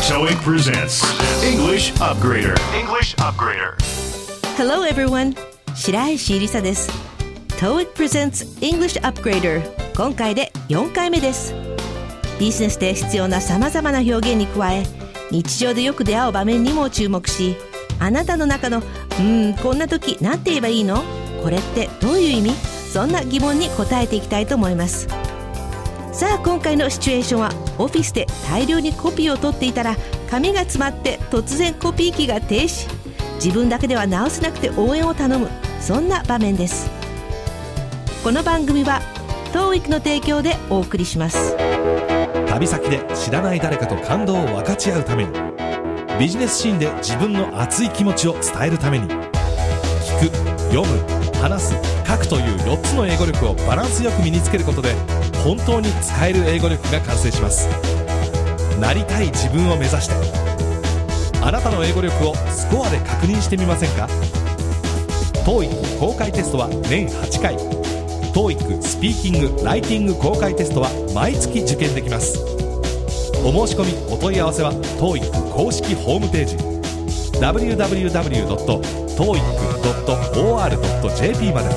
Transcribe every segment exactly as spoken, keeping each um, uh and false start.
トーイック presents English Upgrader. English Upgrader. Hello everyone. 白石りさです。トーイック presents English Upgrader. 今回でよんかいめです。ビジネスで必要な様々な表現に加え、日常でよく出会う場面にも注目し、あなたの中のうーんこんな時なんて言えばいいの？これってどういう意味？そんな疑問に答えていきたいと思います。さあ今回のシチュエーションは、オフィスで大量にコピーを取っていたら紙が詰まって突然コピー機が停止。自分だけでは直せなくて応援を頼む、そんな場面です。この番組は トーイック の提供でお送りします。 旅先で知らない誰かと感動を分かち合うために、ビジネスシーンで自分の熱い気持ちを伝えるために、聞く、読む、話す、書くというよっつの英語力をバランスよく身につけることで、本当に使える英語力が完成します。なりたい自分を目指して、あなたの英語力をスコアで確認してみませんか？ トーイック 公開テストは年はちかい、 トーイック スピーキング・ライティング公開テストは毎月受験できます。お申し込みお問い合わせは トーイック 公式ホームページ ダブリューダブリューダブリュードットトーイックドットオーアールドットジェーピー まで。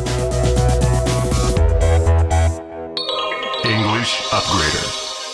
English Upgrader.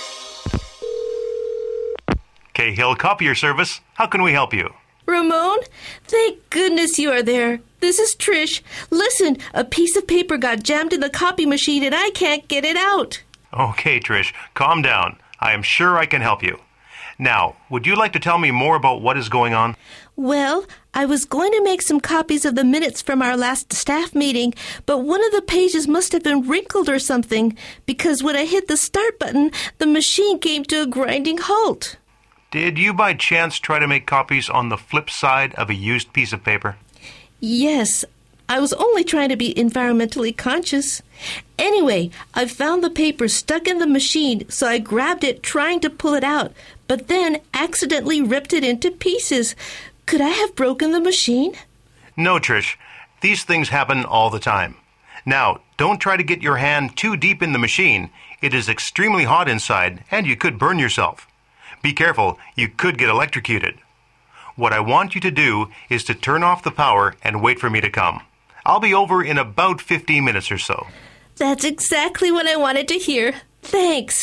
Cahill Copier Service. How can we help you? Ramon, thank goodness you are there. This is Trish. Listen, a piece of paper got jammed in the copy machine and I can't get it out. Okay, Trish, calm down. I am sure I can help you. Now, would you like to tell me more about what is going on? Well, I was going to make some copies of the minutes from our last staff meeting, but one of the pages must have been wrinkled or something, because when I hit the start button, the machine came to a grinding halt. Did you by chance try to make copies on the flip side of a used piece of paper? Yes, I was only trying to be environmentally conscious. Anyway, I found the paper stuck in the machine, so I grabbed it trying to pull it out, but then accidentally ripped it into pieces. Could I have broken the machine? No, Trish. These things happen all the time. Now, don't try to get your hand too deep in the machine. It is extremely hot inside, and you could burn yourself. Be careful, you could get electrocuted. What I want you to do is to turn off the power and wait for me to come. I'll be over in about fifteen minutes or so. That's exactly what I wanted to hear. Thanks.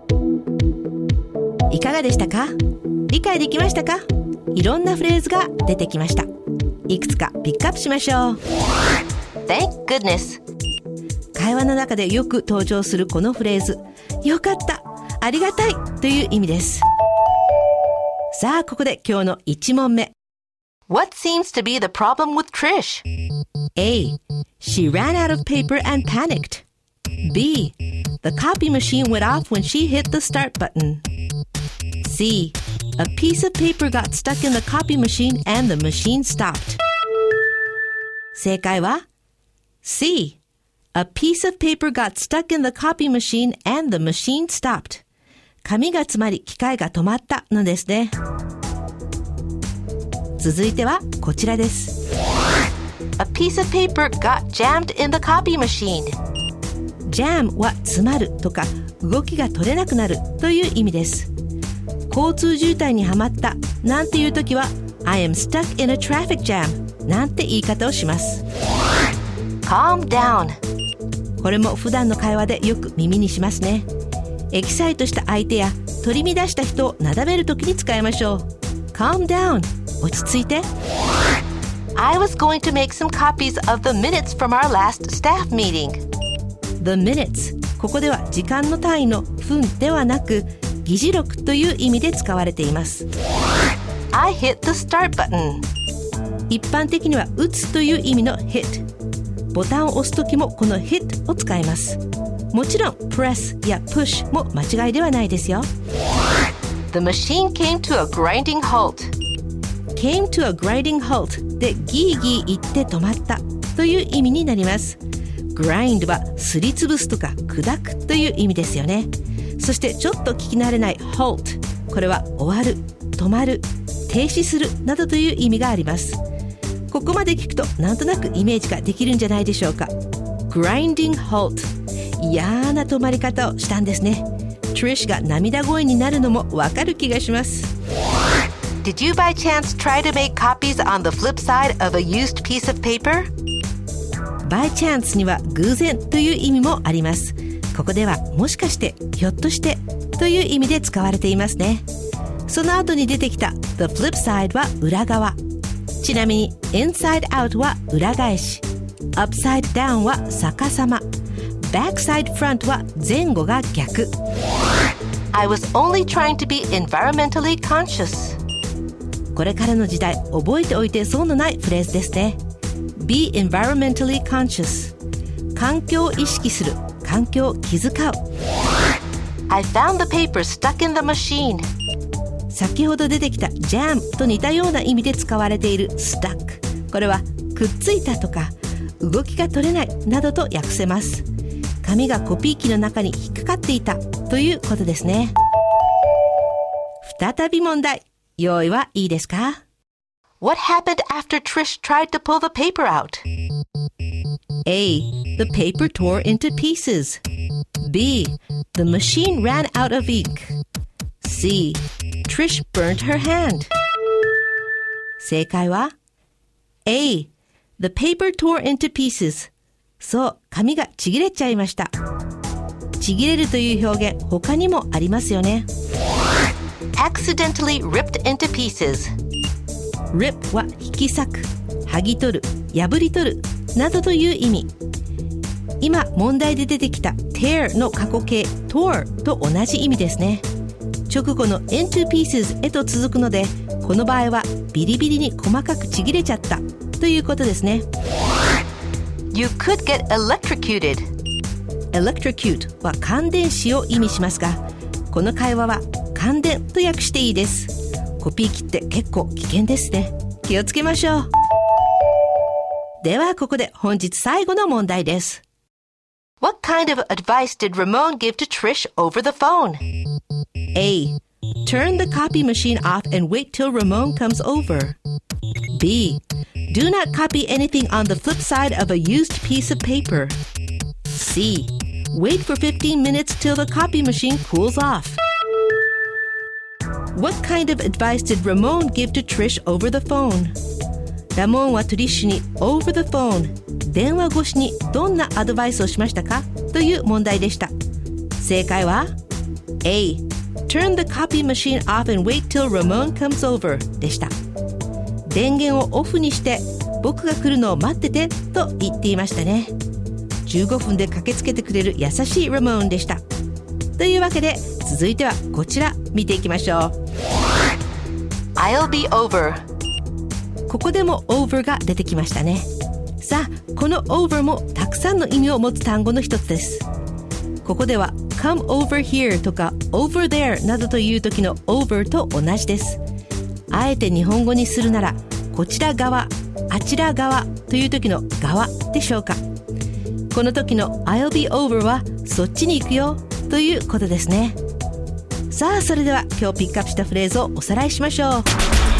いかがでしたか？理解できましたか？いろんなフレーズが出てきました。いくつかピックアップしましょう。 Thank goodness。 会話の中でよく登場するこのフレーズ、よかった、ありがたいという意味です。さあここで今日のいち問目。 What seems to be the problem with Trish? A. She ran out of paper and panicked. B. The copy machine went off when she hit the start button. C. A piece of paper got stuck in the copy machine and the machine stopped. 正解は C. A piece of paper got stuck in the copy machine and the machine stopped. 紙が詰まり機械が止まったのですね。続いてはこちらです。A piece of paper got jammed in the copy machine. Jam は詰まるとか動きが取れなくなるという意味です。交通渋滞にはまったなんていうときは I am stuck in a traffic jam なんて言い方をします。 Calm down。 これも普段の会話でよく耳にしますね。エキサイトした相手や取り乱した人をなだめるときに使いましょう。 Calm down。 落ち着いて。 I was going to make some copies of the minutes from our last staff meeting. The minutes、 ここでは時間の単位の分ではなく議事録という意味で使われています。 I hit the start button。 一般的には打つという意味の hit。 ボタンを押すときもこの hit を使います。もちろん press や push も間違いではないですよ。 The machine came to a grinding halt。 came to a grinding halt でギーギー言って止まったという意味になります。 grind はすりつぶすとか砕くという意味ですよね。そしてちょっと聞き慣れない halt、 これは終わる、止まる、停止するなどという意味があります。ここまで聞くとなんとなくイメージができるんじゃないでしょうか。 grinding halt、 嫌な止まり方をしたんですね。Trish が涙声になるのもわかる気がします。 Did you by chance try to make copies on the flip side of a used piece of paper? by chance には偶然という意味もあります。ここではもしかして、ひょっとしてという意味で使われていますね。その後に出てきた the flip side は裏側。ちなみに inside out は裏返し。upside down は逆さま。backside front は前後が逆。 I was only trying to be environmentally conscious. これからの時代、覚えておいて損のないフレーズですね。be environmentally conscious。環境を意識する。環境を気遣う。 I found the paper stuck in the machine. 先ほど出てきた jam と似たような意味で使われている stuck。これはくっついたとか動きが取れないなどと訳せます。紙がコピー機の中に引っかかっていたということですね。再び問題。用意はいいですか？ What happened after Trish tried to pull the paper out? A. The paper tore into pieces. B. The machine ran out of ink. C. Trish burnt her hand. 正解は A. The paper tore into pieces. そう、紙がちぎれちゃいました。ちぎれるという表現、他にもありますよね。 Accidentally ripped into pieces. rip は引き裂く、剥ぎ取る、破り取るなどという意味。今問題で出てきた tear の過去形 tore と同じ意味ですね。直後の into pieces へと続くので、この場合はビリビリに細かくちぎれちゃったということですね。 You could get electrocuted. electrocute は感電死を意味しますが、この会話は感電と訳していいです。コピー機って結構危険ですね。気をつけましょう。ではここで本日最後の問題です。 What kind of advice did Ramon give to Trish over the phone? A. Turn the copy machine off and wait till Ramon comes over. B. Do not copy anything on the flip side of a used piece of paper. C. Wait for fifteen minutes till the copy machine cools off. What kind of advice did Ramon give to Trish over the phone? ラモンはトリッシュに over the phone 電話越しにどんなアドバイスをしましたかという問題でした。正解は A. Turn the copy machine off and wait till Ramon comes over でした。電源をオフにして僕が来るのを待っててと言っていましたね。じゅうごふんで駆けつけてくれる優しいラモーンでした。というわけで続いてはこちら見ていきましょう。 I'll be over。 ここでも over が出てきましたね。さあこの over もたくさんの意味を持つ単語の一つです。ここでは come over here とか over there などという時の over と同じです。あえて日本語にするならこちら側、あちら側という時の側でしょうか。この時の I'll be over はそっちに行くよということですね。さあそれでは今日ピックアップしたフレーズをおさらいしましょう。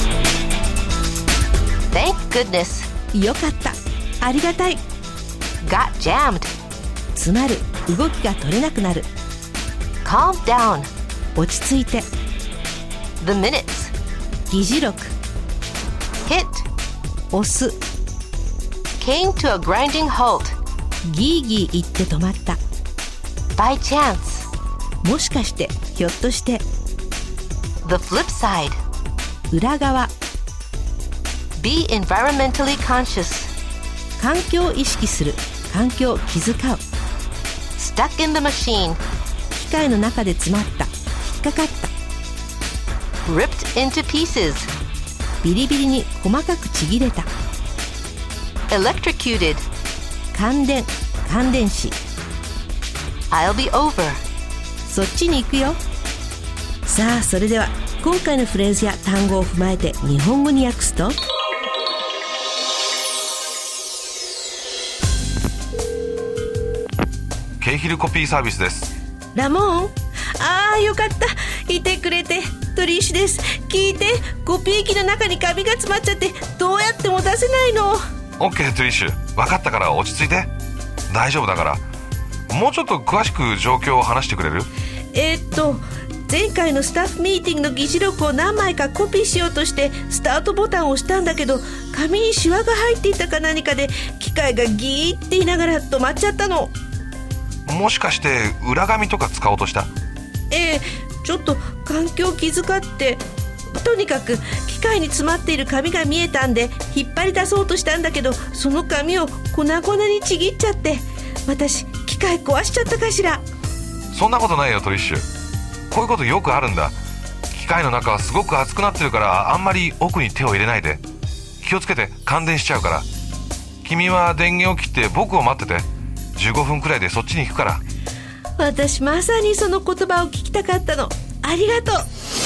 Thank goodness。 よかった、ありがたい。 Got jammed。 詰まる、動きが取れなくなる。 Calm down。 落ち着いて。 The minutes。 議事録。 Hit。 押す。 Came to a grinding halt。 ギーギー言って止まった。 By chance。 もしかして、ひょっとして。 The flip side。 裏側。 Be environmentally conscious。 環境を意識する、環境を気遣う。 Stuck in the machine。 機械の中で詰まった、引っかかった。 Ripped into pieces。 ビリビリに細かくちぎれた。 Electrocuted。 感電、感電死。 I'll be over。 そっちに行くよ。さあそれでは今回のフレーズや単語を踏まえて日本語に訳すと、 ケイヒルコピーサービスです。 ラモン、あーよかった、いてくれて。トリッシュです。聞いて、コピー機の中にカビが詰まっちゃってどうやっても出せないの。 オッケートリッシュ、分かったから落ち着いて。大丈夫だから。もうちょっと詳しく状況を話してくれる？ えー、っと前回のスタッフミーティングの議事録を何枚かコピーしようとしてスタートボタンを押したんだけど、紙にシワが入っていたか何かで機械がギーって言いながら止まっちゃったの。 もしかして裏紙とか使おうとした？ ええ、ちょっと環境を気遣って。とにかく機械に詰まっている紙が見えたんで引っ張り出そうとしたんだけど、その紙を粉々にちぎっちゃって、私機械壊しちゃったかしら。 そんなことないよトリッシュ。こういうことよくあるんだ。機械の中はすごく熱くなってるから、あんまり奥に手を入れないで。気をつけて、感電しちゃうから。君は電源を切って僕を待ってて、じゅうごふんくらいでそっちに行くから。 私まさにその言葉を聞きたかったの。ありがとう。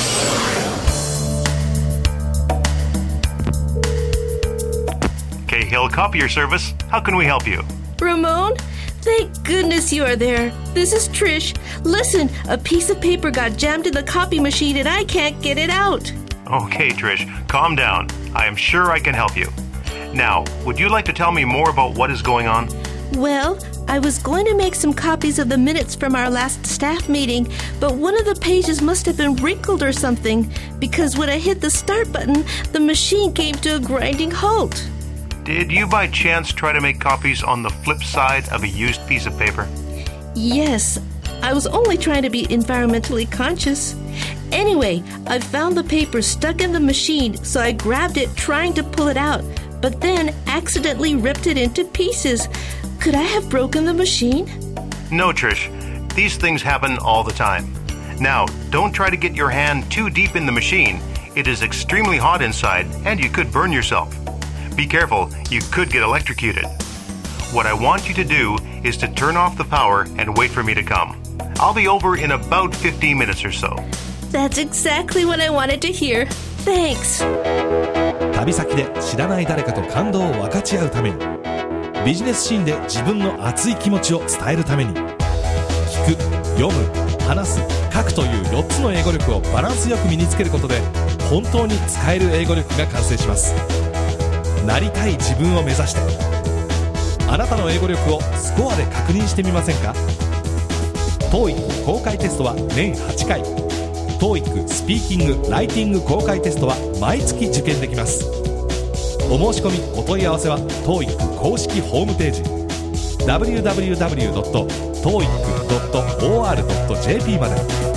Cahill Copier Service. How can we help you? Ramon, thank goodness you are there. This is Trish. Listen, a piece of paper got jammed in the copy machine and I can't get it out. Okay, Trish, calm down. I am sure I can help you. Now, would you like to tell me more about what is going on? Well, I was going to make some copies of the minutes from our last staff meeting, but one of the pages must have been wrinkled or something, because when I hit the start button, the machine came to a grinding halt. Did you by chance try to make copies on the flip side of a used piece of paper? Yes, I was only trying to be environmentally conscious. Anyway, I found the paper stuck in the machine, so I grabbed it trying to pull it out, but then accidentally ripped it into pieces. Could I have broken the machine? No, Trish. These things happen all the time. Now, don't try to get your hand too deep in the machine. It is extremely hot inside, and you could burn yourself. Be careful, you could get electrocuted. What I want you to do is to turn off the power and wait for me to come. I'll be over in about fifteen minutes or so. That's exactly what I wanted to hear. Thanks. 旅先で知らない誰かと感動を分かち合うために、ビジネスシーンで自分の熱い気持ちを伝えるために、聞く、読む、話す、書くというよっつの英語力をバランスよく身につけることで、本当に使える英語力が完成します。なりたい自分を目指して、あなたの英語力をスコアで確認してみませんか？ トーイック 公開テストは年はちかい、 トーイック スピーキング・ライティング公開テストは毎月受験できます。お申し込みお問い合わせは トーイック 公式ホームページ ダブリューダブリューダブリュードットトーイックドットオーアールドットジェーピー まで。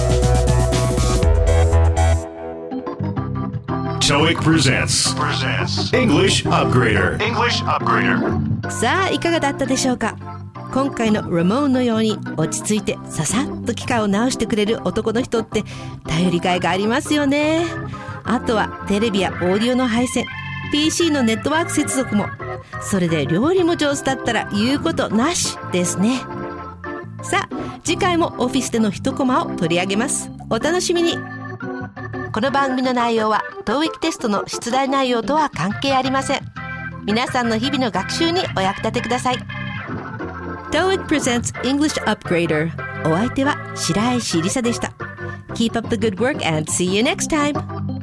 トーイック presents English Upgrader. English Upgrader. さあいかがだったでしょうか。今回のラモーンのように落ち着いてささっと機械を直してくれる男の人って頼りがいがありますよね。あとはテレビやオーディオの配線、 ピーシー のネットワーク接続も、それで料理も上手だったら言うことなしですね。さあ次回もオフィスでの一コマを取り上げます。お楽しみに。この番組の内容は トーイック テストの出題内容とは関係ありません。皆さんの日々の学習にお役立てください。 トーイック presents English Upgrader。 お相手は白石りさでした。 Keep up the good work and see you next time。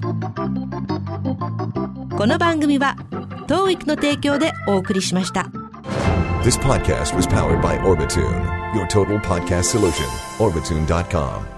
この番組は トーイック の提供でお送りしました。 This podcast was powered by Orbitune, your total podcast solution. Orbitune dot com